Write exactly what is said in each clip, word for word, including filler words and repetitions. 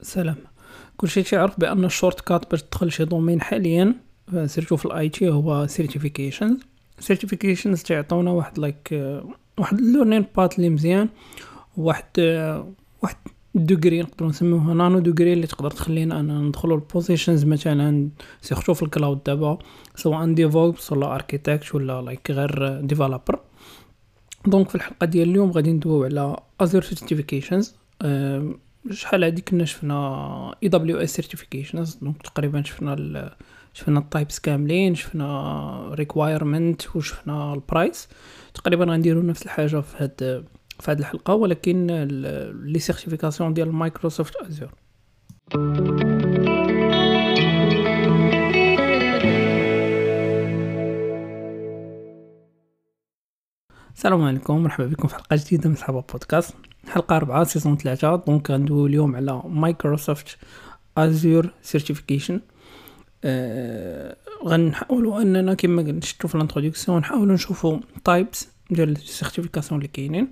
سلام. كل شيء تعرف بان الشورت كات باش تدخل شي دومين حاليا سيرتو في الاي تي هو سيرتيفيكيشنز. سيرتيفيكيشنز تعطونا واحد لايك واحد ليرنين بات اللي مزيان، واحد واحد دوغري نقدروا نسميوها نانو دوغري اللي تقدر تخلينا انا ندخلوا البوزيشنز مثلا سيرتو في الكلاود دابا، سواء ديفوبس ولا اركيتكت ولا لايك غير ديفلوبر. دونك في الحلقه ديال اليوم غادي ندويو على ازور سيرتيفيكيشنز. شحال هادي كنا شفنا اي دبليو اس سيرتيفيكيشنز، دونك تقريبا شفنا ال شفنا التايبس كاملين، شفنا ريكوايرمنت وشفنا البرايس. تقريبا غنديروا نفس الحاجه في هاد في هاد الحلقه، ولكن لي سيرتيفيكاسيون ديال مايكروسوفت ازور. السلام عليكم، مرحبا بكم في حلقه جديده من صحابه بودكاست، حلقه أربعة سيزون ثلاثة. دونك غندويو اليوم على مايكروسوفت ازور سيرتيفيكيشن. آه غنحاولوا اننا كما نشوفوا في الانتروداكسيون نحاولوا نشوفوا تايبس ديال السيرتيفيكاسيون اللي كاينين،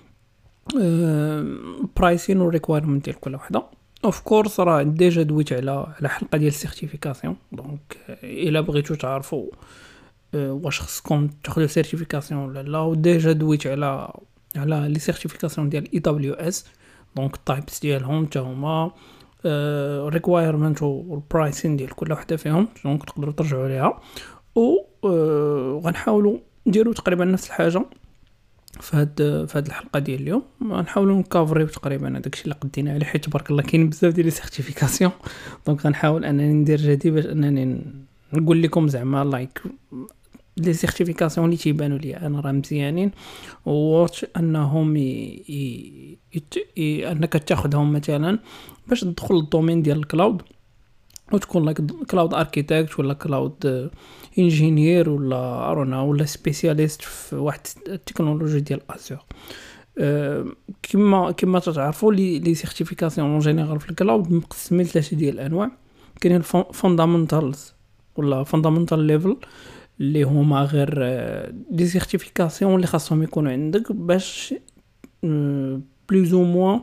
برايسين وريكوايرمنت ديال كل وحده. اوف كورس راه ديجا دويت على على حلقه ديال السيرتيفيكاسيون، دونك الا بغيتو تعرفوا واش خصكم تاخذوا سيرتيفيكاسيون ولا لا، وديجا دويت على على لي سيرتيفيكاسيون ديال اي دبليو اس، دونك التايبس ديالهم حتى هما ريكوايرمنت والبرايسين ديال كل وحده فيهم، دونك تقدروا ترجعوا ليها. و غنحاولوا نديروا تقريبا نفس الحاجه في هاد في هاد الحلقه ديال اليوم. غنحاولوا نكافريو تقريبا هذاك الشيء اللي قدينا عليه، حيت تبارك الله كاين بزاف ديال لي سيرتيفيكاسيون. دونك غنحاول انني ندير جهدي باش انني نقول لكم زعما لايك لي سيرتيفيكاسيون اللي تيبانوا لي انا راه مزيانين، واش انهم ي... ي... ي... انك تاخذهم مثلا باش تدخل للدومين ديال الكلاود وتكون لايك كلاود اركيتكت ولا كلاود انجينير ولا ارونا ولا سبيسياليست في واحد التكنولوجي ديال ازور. أه كما كما تعرفوا لي لي سيرتيفيكاسيون اون جينيرال في الكلاود مقسمين ثلاثه ديال الانواع. كاين الفوندامنتالز ولا فوندامنتال ليفل اللي هما غير دي سيرتيفيكاسيون اللي خاصهم يكونوا عندك باش بلوز او موان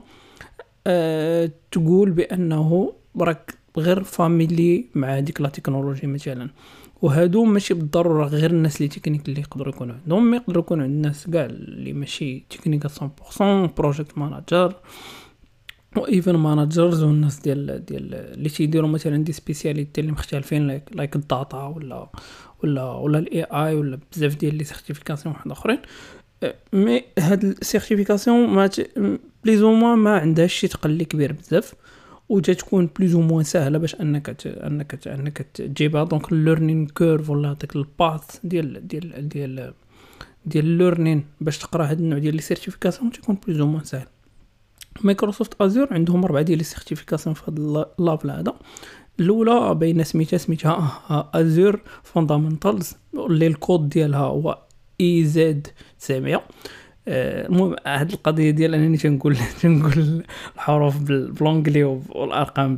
تقول بانه راك غير فاميلي مع ديك لا تكنولوجي مثلا. وهادو ماشي بالضروره غير الناس اللي تكنيك اللي يقدروا يكونوا عندهم، ما يقدروا يكونوا عند الناس كاع اللي ماشي تكنيك مية بالمية، بروجيكت مانجر وايفن مانجرز والناس ديال ديال اللي تيديروا مثلا دي سبيسياليتي اللي مختلفين لايك لايك الداتا ولا ولا ولا الاي اي ولا بزاف ديال لي سيرتيفيكاسيون واحد اخرين. مي هاد السيرتيفيكاسيون ما بليز او موان ما عندهاش شي تقلي كبير بزاف، وتتكون بليز او موان سهله باش انك ت... انك ت... انك تجيبها. دونك الليرنين كيرف ولا داك الباث ديال ديال ديال ديال الليرنين باش تقرا هاد النوع ديال لي سيرتيفيكاسيون تكون بليز او موان سهل. مايكروسوفت ازور عندهم اربعه ديال لي سيرتيفيكاسيون في هذا اللافل هذا. الاولى باينه سميتها سميتها ازور فوندامنتالز اللي الكود ديالها هو اي زد تسعمية. المهم هاد القضيه ديال انني تنقول تنقول الحروف بالانجلي والارقام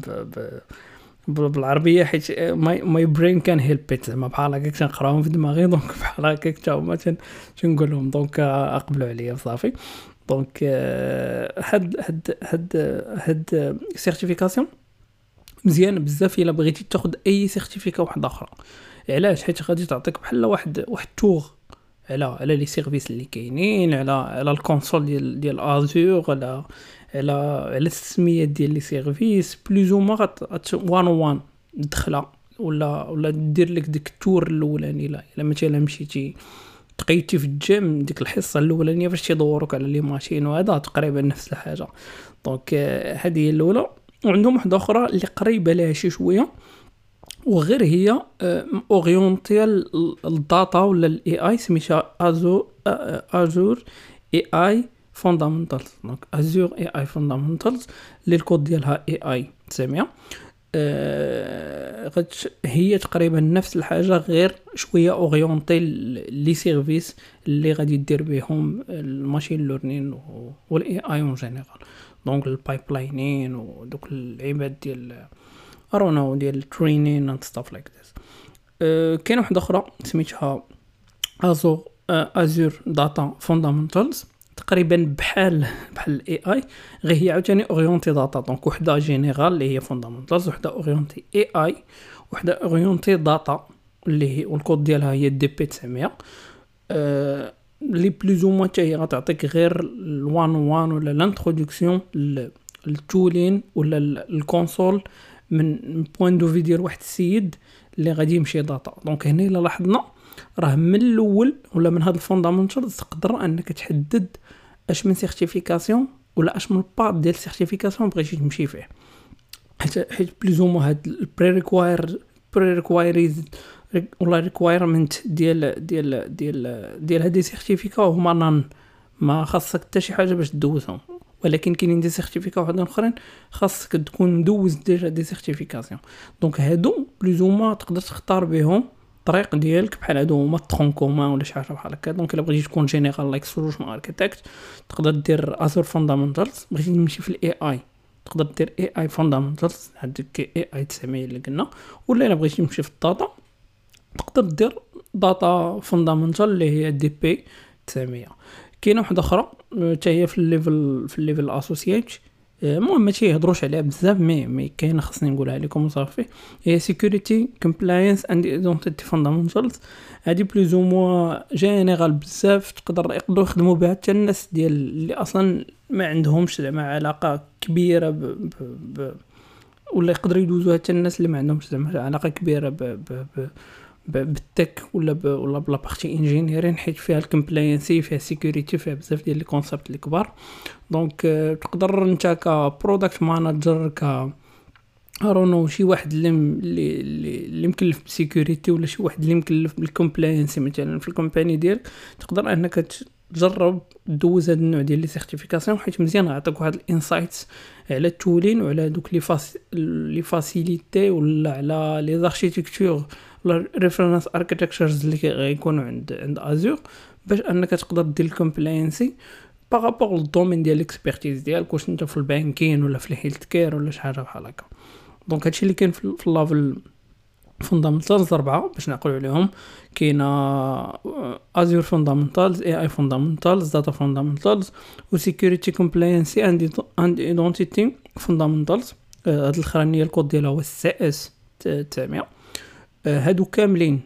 بالعربيه حيت ماي ماي برين كان هيلب زعما بحال هكاك تنقراهم في دماغي، دونك بحال هكاك حتى هما تنقولهم، دونك اقبلوا عليا صافي. دونك هاد هاد هاد هاد سيرتيفيكاسيون مزيان بزاف الا بغيتي تاخذ اي سيرتيفيكا واحده اخرى. علاش؟ حيت غادي تعطيك بحال واحد واحد تور على على لي سيرفيس اللي كاينين، على على الكونسول ديال ديال ازور، على على على السميات ديال لي سيرفيس بلوز او موان وان وان دخله ولا ولا دير لك ديك التور الاولاني. الا مثلا مشيتي تقيتي في الجيم ديك الحصه الاولانيه فاش تيدوروك على لي ماشين، وهذا تقريبا نفس الحاجه. دونك هذه هي الاولى. وعندهم واحده اخرى اللي قريبه لها شي شويه وغير هي اورينتي الداتا ولا الاي اي، سميتها ازور ازور اي اي فوندامنتالز. دونك ازور اي اي فوندامنتالز اللي الكود ديالها اي اي تسعمية. أه هي تقريبا نفس الحاجه غير شويه اورينتي لي سيرفيس اللي غادي دير بهم الماشين ليرنين والاي اي اون جينيرال. دونك البايبلاينين ودوك العباد ديال ارونا ديال الترينين اند ستاف لايك ذس. كاين واحده اخرى سميتها ازور ازور داتا فوندامنتالز، تقريبا بحال بحال الاي اي، غير هي عاوتاني اورينتي داتا. دونك وحده جينيرال اللي هي فوندامنتالز، وحده اورينتي اي اي، وحده اورينتي داتا اللي هي والكود ديالها هي دي بي تسعمية. أه لي بلوز او موان حتى هي غتعطيك غير الوان وان ولا لانتروداكسيون للتولين ولا الكونسول من بوين دو في ديال واحد السيد اللي غادي يمشي داتا. دونك هنا الا لاحظنا راه من الاول ولا من هاد الفوندامنتالز تقدر انك تحدد اش من سيرتيفيكاسيون ولا اش من بارت ديال السيرتيفيكاسيون بغيتي تمشي فيه، حيت حيت بلوز او هاد البري ريكواير بري ريكوايريز ولا ريكوايرمنت ديال ديال ديال ديال هاد السيرتيفيكا هما نان، ما خاصك حتى شي حاجه باش تدوزهم. ولكن كاينين دي سيرتيفيكا وحدين اخرين خاصك تكون مدوز ديجا دي سيرتيفيكاسيون. دونك هادو بلوز او ما تقدر تختار بهم الطريق ديالك، بحال هادو هما الترون كومان ولا شي حاجه بحال هكا. دونك الا بغيتي تكون جينيرال لايك سولوشن اركيتكت تقدر دير ازور فوندامنتالز، بغيتي تمشي في الاي اي تقدر دير اي اي فوندامنتالز هذيك اي اي تسعمية اللي قلنا، ولا الا بغيتي تمشي في الداتا تقدر دير داتا فوندامنتال اللي هي دي بي تسعمية. كاينه واحده اخرى حتى هي في الليفل في الليفل الاسوسييت، المهم ما تيهضروش عليها بزاف مي مي كاينه خصني نقولها لكم وصافي، هي سيكوريتي كومبلاينس اند ايدنتيتي فوندامنتالز. هادي بلوز او موا جينيرال بزاف، تقدر يقدروا يخدموا بها حتى الناس ديال اللي اصلا ما عندهمش زعما علاقه كبيره ب, ب, ب ولا يقدروا يدوزوها حتى الناس اللي ما عندهمش زعما علاقه كبيره ب, ب, ب بالتك ولا ب ولا بلا بارتي انجينيرين، حيت فيها الكومبلاينسي فيها السيكوريتي فيها بزاف ديال لي كونسيبت اللي كبار. دونك تقدر انت كبرودكت مانجر ك ارونو شي واحد اللي اللي اللي مكلف بالسيكوريتي ولا شي واحد اللي مكلف بالكومبلاينسي مثلا في الكومباني ديالك، تقدر انك تجرب دوز هاد النوع ديال لي سيرتيفيكاسيون، حيت مزيان غيعطيك واحد الانسايتس على التولين وعلى دوك لي فاس لي فاسيليتي ولا على لي زاركتيكتور ولا ريفرنس اركيتكتشرز اللي غيكونوا عند عند ازور، باش انك تقدر دير الكومبلاينسي بارابور للدومين ديال الاكسبيرتيز ديالك، واش انت في البانكين ولا في الهيلث كير ولا شي حاجه بحال هكا. دونك هادشي اللي كاين في اللافل فوندامنتالز أربعة باش نعقلوا عليهم. كاينه ازور فوندامنتالز، اي اي فوندامنتالز، داتا فوندامنتالز، وسيكوريتي كومبلاينسي اند ايدنتيتي فوندامنتالز. هاد الاخرانيه الكود ديالها هو السي اس تسعمية. هادو كاملين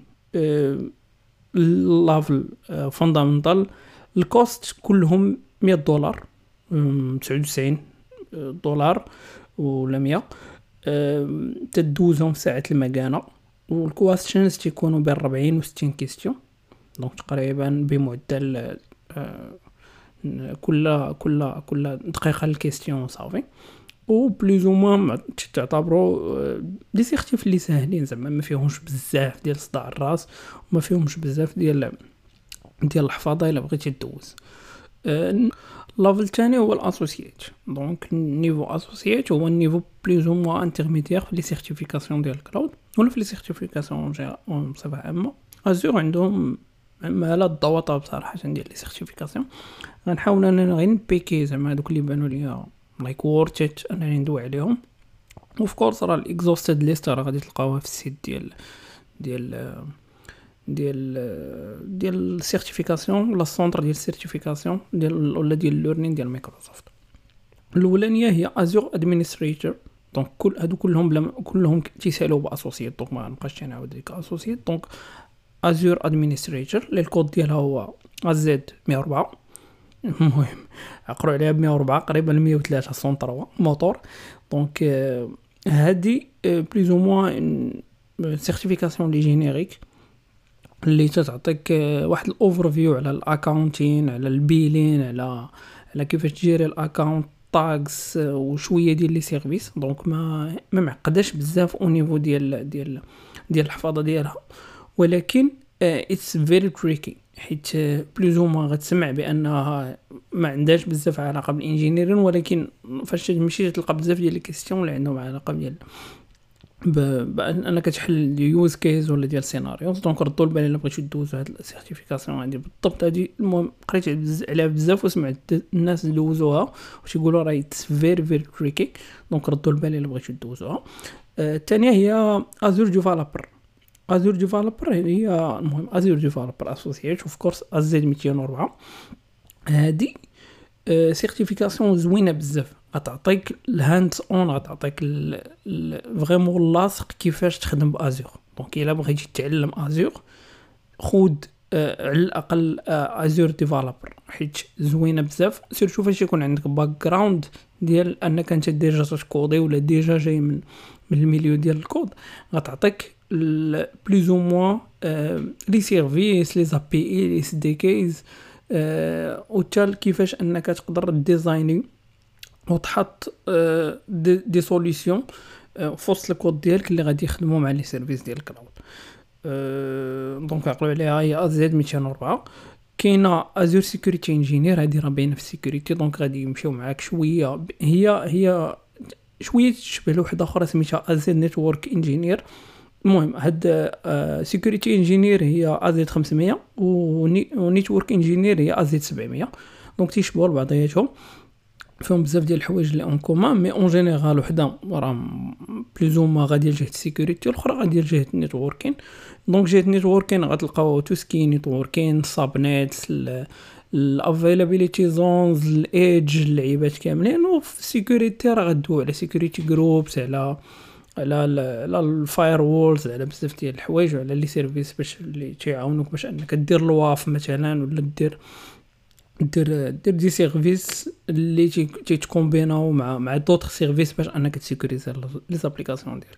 اللافل فوندامنتال. الكوست كلهم مية دولار، تسعة وتسعين دولار ولا مية، تدوزهم ساعة المكانة. والكويستشنز تيكونوا بين أربعين و ستين كيستيون، دونك تقريبا بمعدل كل كل كل دقيقة الكيستيون صافي. و بلوز او موان تعتبروا دي سيرتيف اللي ساهلين، زعما ما فيهمش بزاف ديال صداع الراس وما فيهمش بزاف ديال ديال الحفاظه الا بغيتي تدوز. الليفل الثاني هو الاسوسييت. دونك النيفو اسوسييت هو النيفو بلوز او موان انترميديير في لي سيرتيفيكاسيون ديال الكلاود ولا في لي سيرتيفيكاسيون بصفه عامه. ازور عندهم مالا الضوطه بصراحه ديال لي سيرتيفيكاسيون. غنحاول اننا غير نبيكي زعما هذوك اللي بانوا ليا لايك وورث انني ندوي عليهم. وف كورس راه الاكزوستد ليست راه غادي تلقاوها في السيت ديال ديال ديال ديال السيرتيفيكاسيون ولا السونتر ديال السيرتيفيكاسيون ديال ولا ديال الليرنين ديال مايكروسوفت. الاولانيه هي ازور ادمينستريتور. دونك كل هادو كلهم بلا كلهم تيسالوا باسوسييت، دونك ما نبقاش نعاود ديك اسوسييت. دونك ازور ادمينستريتور اللي الكود ديالها هو ازد مية وأربعة. المهم عقروا عليها ب مية وأربعة قريبا مية وثلاثة سونتر موتور. دونك هادي بلوز او موان سيرتيفيكاسيون لي جينيريك اللي تعطيك واحد الاوفر فيو على الاكاونتين، على البيلين، على على كيفاش تجيري الاكاونت تاكس وشويه ديال لي سيرفيس. دونك ما ما معقداش بزاف او نيفو ديال ديال ديال الحفاظه ديالها، ولكن اتس فيري تريكي، حيت بلوز او موان غتسمع بانها ما عندهاش بزاف علاقه بالانجينيرين، ولكن فاش تمشي تلقى بزاف ديال الكيستيون اللي عندهم علاقه ديال بانك تحل يوز كيس ولا ديال سيناريوز. دونك ردوا البال الا بغيتو دوزوا هاد السيرتيفيكاسيون هادي بالضبط. هادي المهم قريت عليها بزاف وسمعت الناس دوزوها وتيقولوا راه اتس فيري فيري تريكي. دونك ردوا البال الا بغيتو دوزوها. الثانيه آه هي ازور ديفلوبر. ازور ديفلوبر هي المهم ازور ديفلوبر اسوسييت اوف كورس ازد ميتين وأربعة. هادي سيرتيفيكاسيون زوينه بزاف، غتعطيك الهاندز اون، غتعطيك فريمون اللاصق كيفاش تخدم بازور. دونك الا بغيتي تتعلم ازور خود آه على الاقل آه ازور ديفلوبر، حيت زوينه بزاف، سيرتو فاش يكون عندك باك جراوند ديال انك انت ديجا تكودي ولا ديجا جاي من من الميليو ديال الكود. غتعطيك بلوز او موان لي سيرفيس لي زابي اي لي اس دي كيز أه وتال كيفاش انك تقدر ديزايني وتحط أه دي, دي سوليوشن أه فوسط الكود ديالك اللي غادي يخدموا مع لي سيرفيس ديال الكلاود. أه دونك عقلوا عليها هي ازد مئتين وأربعة. كاينه ازور سيكوريتي انجينير، هذه راه باينه في السيكوريتي، دونك غادي يمشيو معاك شويه، هي هي شويه تشبه لوحده اخرى سميتها ازد نيتورك انجينير. المهم هاد سيكوريتي انجينير هي ازد خمسمية ونيتورك انجينير هي ازد سبعمية، دونك تيشبهوا لبعضياتهم، فيهم بزاف ديال الحوايج اللي اون كومان، مي اون جينيرال وحده راه بلوزو ما غادي لجهه السيكوريتي والاخرى غادي لجهه النيتوركين. دونك جهه النيتوركين غتلقاو تو سكي نيتوركين سابنيت الافيلابيليتي زونز الايدج اللعيبات كاملين، وفي السيكوريتي راه غدوي على سيكوريتي جروبس، على على على الفاير وولز، على بزاف ديال الحوايج، وعلى لي سيرفيس باش اللي تيعاونوك باش انك دير لواف مثلا، ولا دير دير دير دي سيرفيس اللي تيتكومبيناو مع مع دوطخ سيرفيس باش انك تسيكوريزي لي زابليكاسيون ديالك.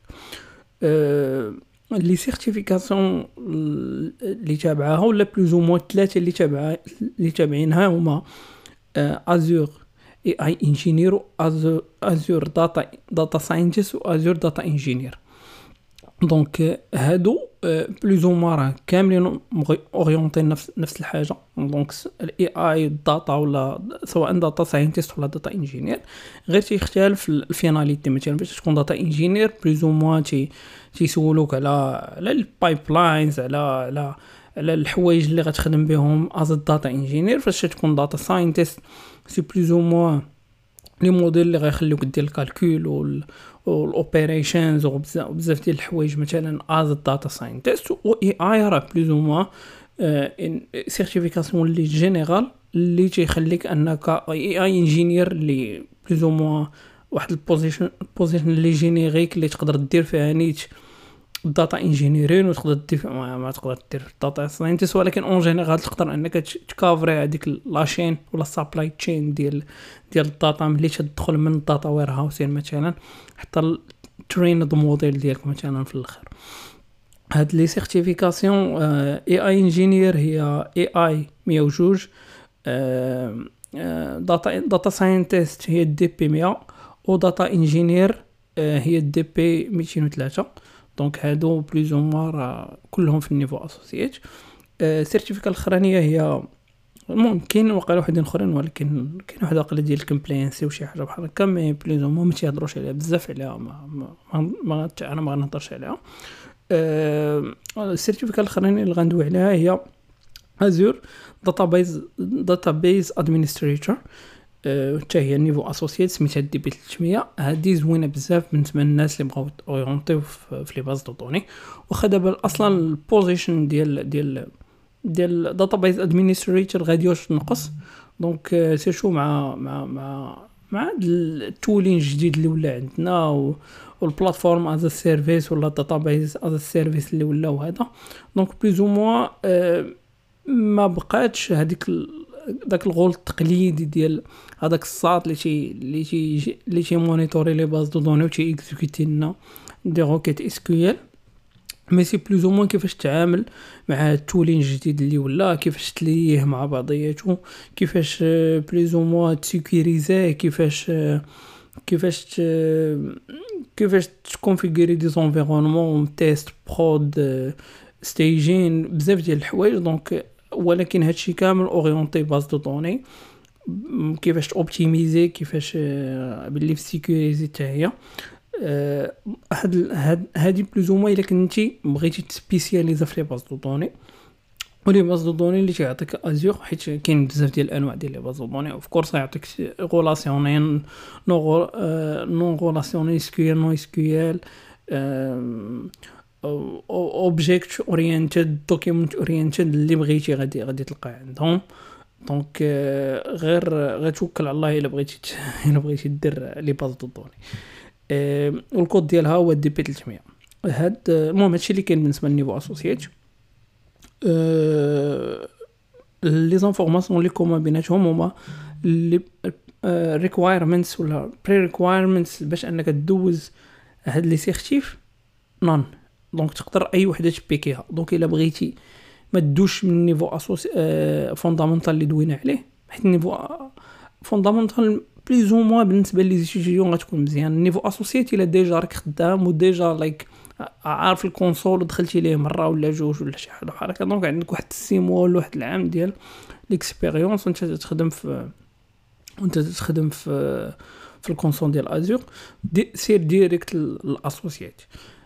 أه لي سيرتيفيكاسيون اللي تابعاها ولا بلوز او موان ثلاثه اللي تابعه اللي تابعينها هما ازور اي اي انجينير، ازور داتا داتا ساينتست، وازور داتا انجينير. دونك هادو بلوز او موان كاملين اورينتي نفس نفس الحاجه. دونك الاي اي الداتا ولا سواء داتا ساينتست ولا داتا انجينير، غير تيختلف الفيناليتي. مثلا باش تكون داتا انجينير بلوز او موان تي تيسولوك على على البايبلاينز، على على على الحوايج اللي غتخدم بهم از داتا انجينير. فاش تكون داتا ساينتست سي بلوز او موان لي موديل اللي غيخليوك دير الكالكول وال والاوبريشنز وبزاف ديال الحوايج مثلا از داتا ساينتست. و اي اي راه بلوز او موان سيرتيفيكاسيون اللي جينيرال اللي تيخليك انك اي اي انجينير اللي بلوز او موان واحد البوزيشن بوزيشن اللي جينيريك اللي تقدر دير فيها نيت داتا انجينيرين، وتقدر دير ما, ما تقدر دير داتا ساينتست، ولكن اون جينيرال تقدر انك تكافري هذيك لاشين ولا سابلاي تشين ديال ديال الداتا ملي تدخل من الداتا وير هاوسين مثلا حتى ترين دو موديل ديالك مثلا في الاخر. هاد لي سيرتيفيكاسيون اي اي انجينير هي اي اي مية وجوج، داتا داتا ساينتست هي دي بي مية، وداتا انجينير هي دي بي مئتين وثلاثة. دونك هادو بلوز او موان كلهم في النيفو اسوسييت. السيرتيفيكا الاخرانيه هي المهم كاين وقع وحدين اخرين، ولكن كاين واحد واقيلا ديال الكومبلاينسي وشي حاجه بحال هكا، مي بلوز او موان ما تيهضروش عليها بزاف عليها، ما ما, ما انا ما غنهضرش عليها. السيرتيفيكا الاخرانيه اللي غندوي عليها هي ازور داتابيز داتابيز ادمنستريتور، حتى هي نيفو اسوسييت سميتها دي بي ثلاثمية. هذه زوينه بزاف بالنسبه للناس اللي بغاو اورينتيو في لي باز دو دوني، واخا دابا اصلا البوزيشن ديال ديال ديال داتابيز ادمنستريتور غادي واش تنقص. دونك سيرشو مع مع مع مع التولين الجديد اللي ولا عندنا والبلاتفورم از سيرفيس ولا داتابيز از سيرفيس اللي ولاو هذا. دونك بلوز او موان ما بقاتش هذيك داك الغول التقليدي ديال هذاك الساط اللي تي اللي تي اللي تي مونيتوري لي باز دو دوني و تي اكزيكوتي لنا دي روكيت اس كيو ال. مي سي بلوز او موان كيفاش تتعامل مع التولين الجديد اللي ولا، كيفاش تليه مع بعضياته، كيفاش بلوز او موان تسيكوريزيه، كيفاش كيفاش ت... كيفاش تكونفيغوري دي زونفيرونمون تيست برود ستيجين بزاف ديال الحوايج. دونك ولكن هادشي كامل اورينتي باز دو دوني، كيفاش اوبتيميزي، كيفاش باللي في سيكوريزي حتى هي. هاد هاد هادي بلوز او موان الا كنتي بغيتي تسبيسياليزا في لي باز دو دوني ولي باز دو دوني اللي تيعطيك ازور، حيت كاين بزاف ديال الانواع ديال لي باز دو دوني. اوف كورس يعطيك غولاسيونين نو نو غولاسيونين اس كيو ال نو اس كيو ال اوبجيكت اورينتد دوكيومنت اورينتد اللي بغيتي غادي غادي تلقى عندهم. دونك آه، غير غير توكل على الله الا بغيتي ت- الا بغيتي دير لي باز دو دوني. آه، والكود ديالها هو دي بي ثلاثمية. هاد آه، المهم هادشي اللي كاين بالنسبه للنيفو اسوسييت. أه لي زانفورماسيون اللي كوما بيناتهم هما لي ريكوايرمنتس ولا بري ريكوايرمنتس باش انك دوز هاد لي سيرتيف نون. دونك تقدر اي وحده تبيكيها. دونك الا بغيتي ما تدوش من النيفو اسوسي أه فوندامونتال اللي دوينا عليه، حيت النيفو فوندامونتال بليز او موا بالنسبه لي ستوديون غتكون مزيان. النيفو اسوسييت الا ديجا راك خدام وديجا لايك عارف الكونسول ودخلتي ليه مره ولا جوج ولا شي حاجه بحال هكا، دونك عندك واحد السيمو ولا واحد العام ديال ليكسبيريونس وانت تخدم في وانت تخدم في في الكونسول ديال ازور. دي سير ديريكت الاسوسييت.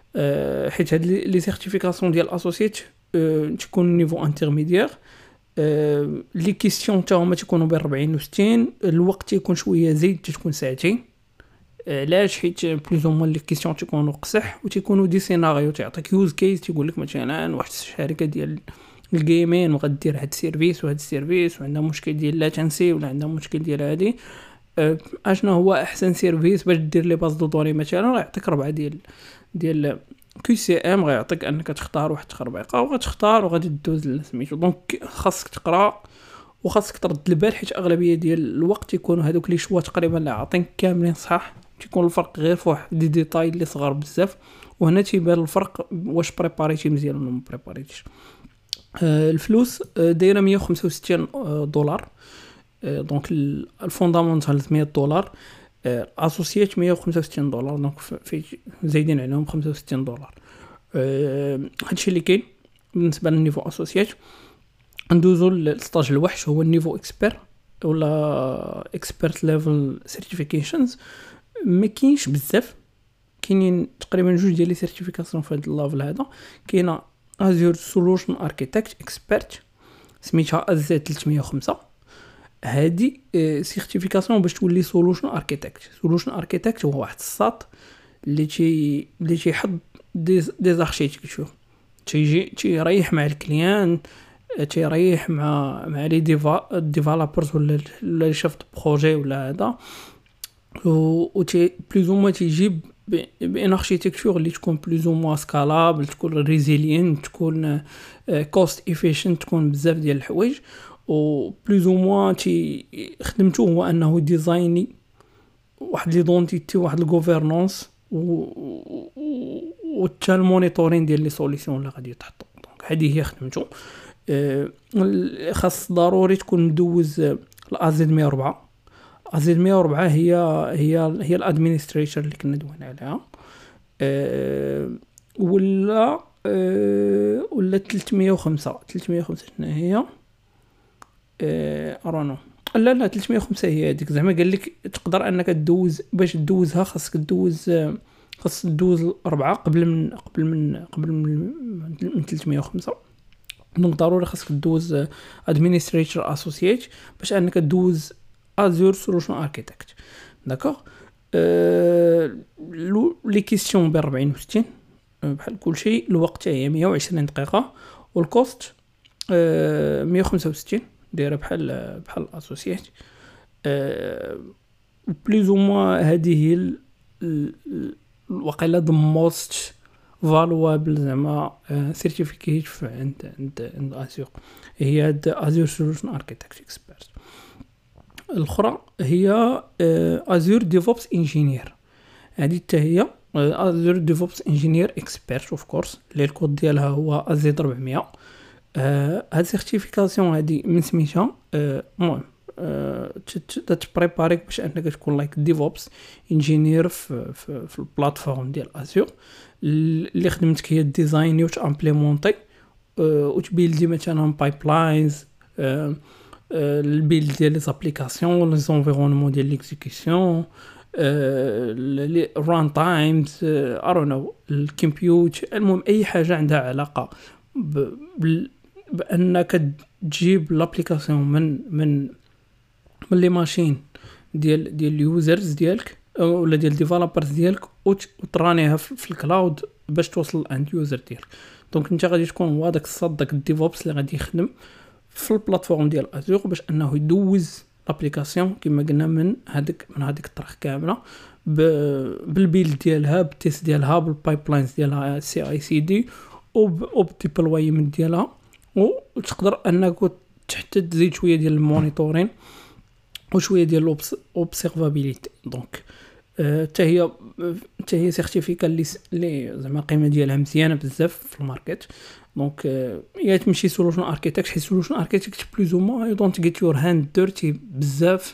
أه حيت هاد لي سيرتيفيكاسيون ديال الاسوسييت أه تكون نيفو انترميديير. أه لي كيسيون تا هما تيكونوا بين أربعين و ستين، الوقت تيكون شويه زايد تكون ساعتين. علاش؟ حيت بلوز او موان لي كيسيون تيكونوا قصح وتيكونوا دي سيناريو، تعطيك يوز كيس تيقول لك مثلا واحد الشركه ديال الجيمين وغدير هاد السيرفيس وهاد السيرفيس وعندها مشكل ديال لاتنسي ولا عندها مشكل ديال هادي، أه اشنا هو احسن سيرفيس باش دير لي باز دو دوني مثلا. غيعطيك ربعه ديال ديال كيو سي ام، غيعطيك انك تختار واحد التخربيقه وغتختار وغادي دوز لسميتو. دونك خاصك تقرا وخاصك ترد البال، حيت اغلبيه ديال الوقت يكونوا هذوك لي شوا تقريبا لا عاطين كاملين صح، تيكون الفرق غير في واحد دي ديتاي اللي صغار بزاف، وهنا تيبان الفرق واش بريباريتي مزيان ولا ما بريباريتيش. آه الفلوس آه دايره مية وخمسة وستين آه دولار. آه دونك الفوندامونتال مية دولار، آه اسوسييت مية وخمسة وستين دولار، دونك في زايدين عليهم خمسة وستين دولار. آه هادشي اللي كاين بالنسبه للنيفو اسوسييت. ندوزو للستاج الوحش هو النيفو اكسبير ولا اكسبيرت ليفل سيرتيفيكيشنز. ما كاينش بزاف، كاينين تقريبا جوج ديال لي سيرتيفيكاسيون في هذا الليفل هذا. كاينه ازور سولوشن اركيتكت اكسبيرت سميتها از ثلاثمية وخمسة. هادي سيرتيفيكاسيون باش تولي سولوشن اركيتكت. سولوشن اركيتكت هو واحد الساط اللي تي اللي تيحط دي دي زاركتيكتور، تيجي تيريح مع الكليان، تيريح مع مع لي ديفا ديفلوبرز ولا ولا شيف بروجي ولا هذا، و تي بلوز او موا تيجيب بان اركيتكتور اللي تكون بلوز او موا سكالابل، تكون ريزيلينت، تكون كوست افيشنت، تكون بزاف ديال الحوايج. و بلوز او موا تي خدمته هو انه ديزايني واحد لي دونتيتي واحد الغوفرنانس و حتى المونيتورين ديال لي سوليسيون اللي غادي يتحطوا. دونك هذه هي خدمته. أه خاص ضروري تكون مدوز الازد مية وأربعة. ازد مية وأربعة هي هي هي الادمينستريتور اللي كنا دوينا عليها. أه ولا أه ولا ثلاثمية وخمسة. ثلاثمية وخمسة شنو هي؟ ارونو لا لا ثلاثمية وخمسة هي هذيك. زعما قال لك تقدر انك تدوز، باش تدوزها خاصك تدوز خاص تدوز أربعة قبل من قبل من قبل من, من ثلاثمية وخمسة. دونك ضروري خاصك تدوز ادمينستريتور اسوسييت باش انك تدوز ازور سولوشن اركيتكت. داكوغ. أه لي كيسيون ب أربعين و ستين بحال كلشي. الوقت هي مية وعشرين دقيقه، والكوست أه مية وخمسة وستين، دايره بحال بحال الاسوسييت. أه بليز او موا هذه هي الوقيله د موست فالوابل زعما سيرتيفيكيت عند عند عند ازور، هي هاد ازور سولوشن اركيتكت اكسبيرت. الاخرى هي ازور ديفوبس انجينير. هذه حتى هي ازور ديفوبس انجينير اكسبيرت اوف كورس اللي الكود ديالها هو ازد أربعمية. هاد السيرتيفيكاسيون هذه من سميتها المهم تتبريباريك باش انك تكون لايك ديفوبس انجينير في في, في البلاتفورم ديال ازور. اللي خدمتك هي الديزاين و تامبليمونطي و تبيلدي مثلا بايبلاينز، البيلد ديال لي زابليكاسيون، لي انفيرونمون ديال ليكزيكسيون، لي ران تايمز، ارونو الكمبيوت. المهم اي حاجه عندها علاقه بانك تجيب لابليكاسيون من من من لي ماشين ديال ديال اليوزرز ديالك ولا ديال ديفلوبرز ديالك وترانيها في الكلاود باش توصل للاند يوزر ديالك. دونك انت غادي تكون هو داك الصاد داك الديفوبس اللي غادي يخدم في البلاتفورم ديال ازور باش انه يدوز لابليكاسيون كما قلنا من هذيك من هذيك الطرح كامله بالبيلد ديالها بالتيست ديالها بالبايبلاينز ديالها سي اي سي دي وبديبلويمنت ديالها، وتقدر انك حتى تزيد شويه ديال المونيتورين وشويه ديال الاوبسيرفابيليتي. دونك حتى هي حتى هي سيرتيفيكا اللي اللي زعما القيمه ديالها مزيانه بزاف في الماركت. دونك يا تمشي سولوشن اركيتكت، حيت سولوشن اركيتكت بلوز او مون يو دونت جيت يور هاند ديرتي بزاف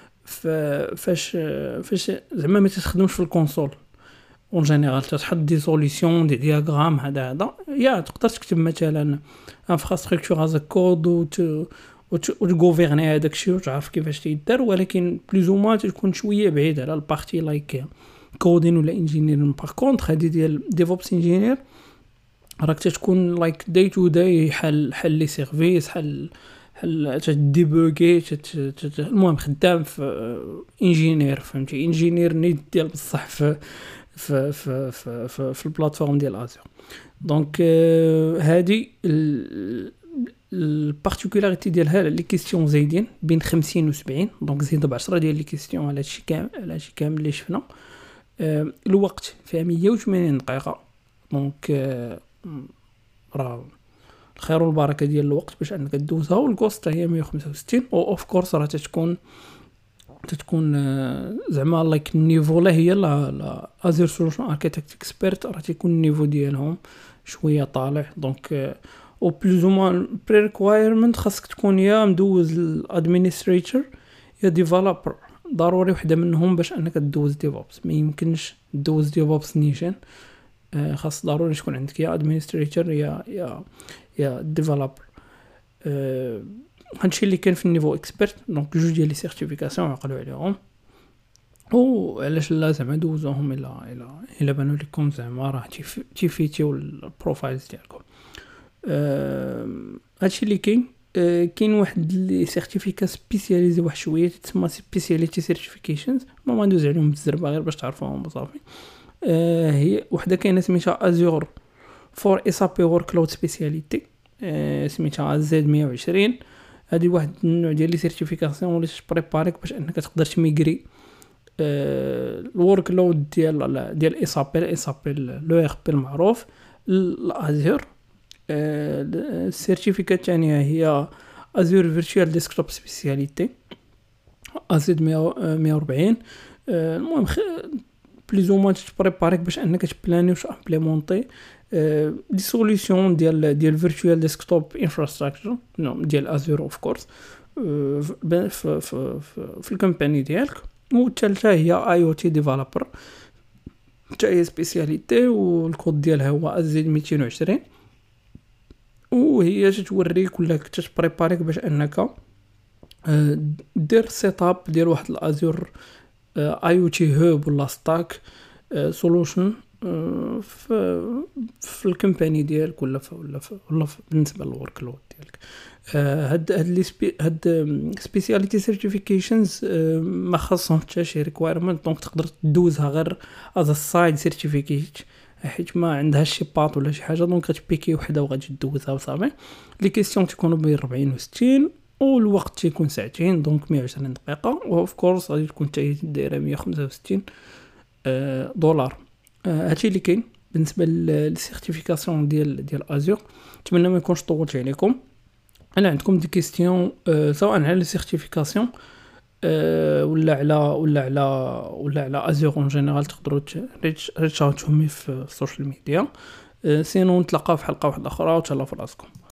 فاش فاش زعما ما تخدمش في الكونسول اون جينيرال، تحط دي سوليوشن دي دياغرام هذا هذا يا تقدر تكتب مثلا انفراستركتور از كود و وتغوفيرني هذاك الشيء وتعرف كيفاش تيدار، ولكن بلوز او مون تكون شويه بعيد على البارتي لايك كودين ولا انجينير. باغ كونطخ هذه ديال ديفوبس انجينير راك تكون لايك داي تو داي حل حل لي سيرفيس حل حل تديبوغي المهم خدام في انجينير، فهمتي انجينير نيت ديال بصح في في في في, في, في البلاتفورم ديال ازور. دونك هذه البارتيكولاريتي ديالها لي كيسيون زايدين بين خمسين و سبعين، دونك زيد بعشرة ديال لي كيسيون على هادشي كامل على هادشي كامل اللي شفنا. أه الوقت فيها مية وثمانين دقيقه، دونك أه راه الخير والبركه ديال الوقت باش انك دوزها، والكوست هي مية وخمسة وستين. او اوف كورس راه تتكون تتكون أه زعما لايك النيفو لا هي لا لا ازير سولوشن اركيتكت اكسبيرت راه تيكون النيفو ديالهم شويه طالع. دونك أه او بلوز او موان بري ريكوايرمنت خاصك تكون يا مدوز الادمينستريتور يا ديفلوبر، ضروري وحده منهم باش انك تدوز ديفوبس. ما يمكنش تدوز ديفوبس نيشان، آه خاص ضروري تكون عندك يا ادمينستريتور يا يا يا ديفلوبر. آه هادشي اللي كان في النيفو اكسبيرت. دونك جوج ديال لي سيرتيفيكاسيون عقلوا عليهم، او علاش لا زعما دوزوهم الا الا الا بانوا لكم زعما راه تيفيتيو البروفايلز ديالكم. أه هادشي اللي كاين. أه كاين واحد لي سيرتيفيكا سبيسياليزي واحد شويه تسمى سبيسياليتي سيرتيفيكيشنز، ما ندوز عليهم بالزربه غير باش تعرفوهم بصافي. أه هي وحده كاينه سميتها ازور فور اس ا بي ورك كلاود سبيسياليتي، أه سميتها زد مية وعشرين. هذه واحد النوع ديال لي سيرتيفيكاسيون اللي تبريباريك باش انك تقدر تميغري أه الورك لود ديال ديال اس ا بي اس ا بي لو ار بي المعروف الازور. السيرتيفيكات الثانيه هي ازور فيرتشوال ديسكتوب سبيسياليتي ازد مية وأربعين. المهم بليز او موان تبريباريك باش انك تبلاني واش امبليمونطي دي سوليوشن ديال ديال فيرتشوال ديسكتوب انفراستراكشر ديال ازور اوف كورس في في في الكومباني ديالك. والثالثه هي اي او تي ديفلوبر، حتى هي سبيسياليتي والكود ديالها هو ازد ميتين وعشرين، وهي تتوريك ولا تتبريباريك باش انك دير سيت اب ديال واحد الازور اي او تي هوب ولا ستاك سولوشن في في الكومباني ديالك ولا ولا ولا بالنسبه للورك لود ديالك. هاد هاد لي سبي هاد سبيسياليتي سيرتيفيكيشنز ما خاصهم حتى شي ريكوايرمنت، دونك تقدر تدوزها غير از سايد سيرتيفيكيت حيت ما عندهاش شي باط ولا شي حاجه، دونك غتبيكي وحده وغادي تدوزها وصافي. لي كيسيون تيكونوا بين أربعين و ستين والوقت تيكون ساعتين، دونك مية وعشرين دقيقه. واوف كورس غادي تكون حتى دايره مية وخمسة وستين دولار. هادشي اللي كاين بالنسبه للسيرتيفيكاسيون ديال ديال ازور. نتمنى ما يكونش طولت عليكم. انا عندكم دي كيستيون سواء على السيرتيفيكاسيون ولا على ولا على ولا على ازور اون جينيرال تقدروا ريتش اوتومي في السوشيال ميديا. سينو نتلاقاو في حلقه واحده اخرى وتهلاو في راسكم.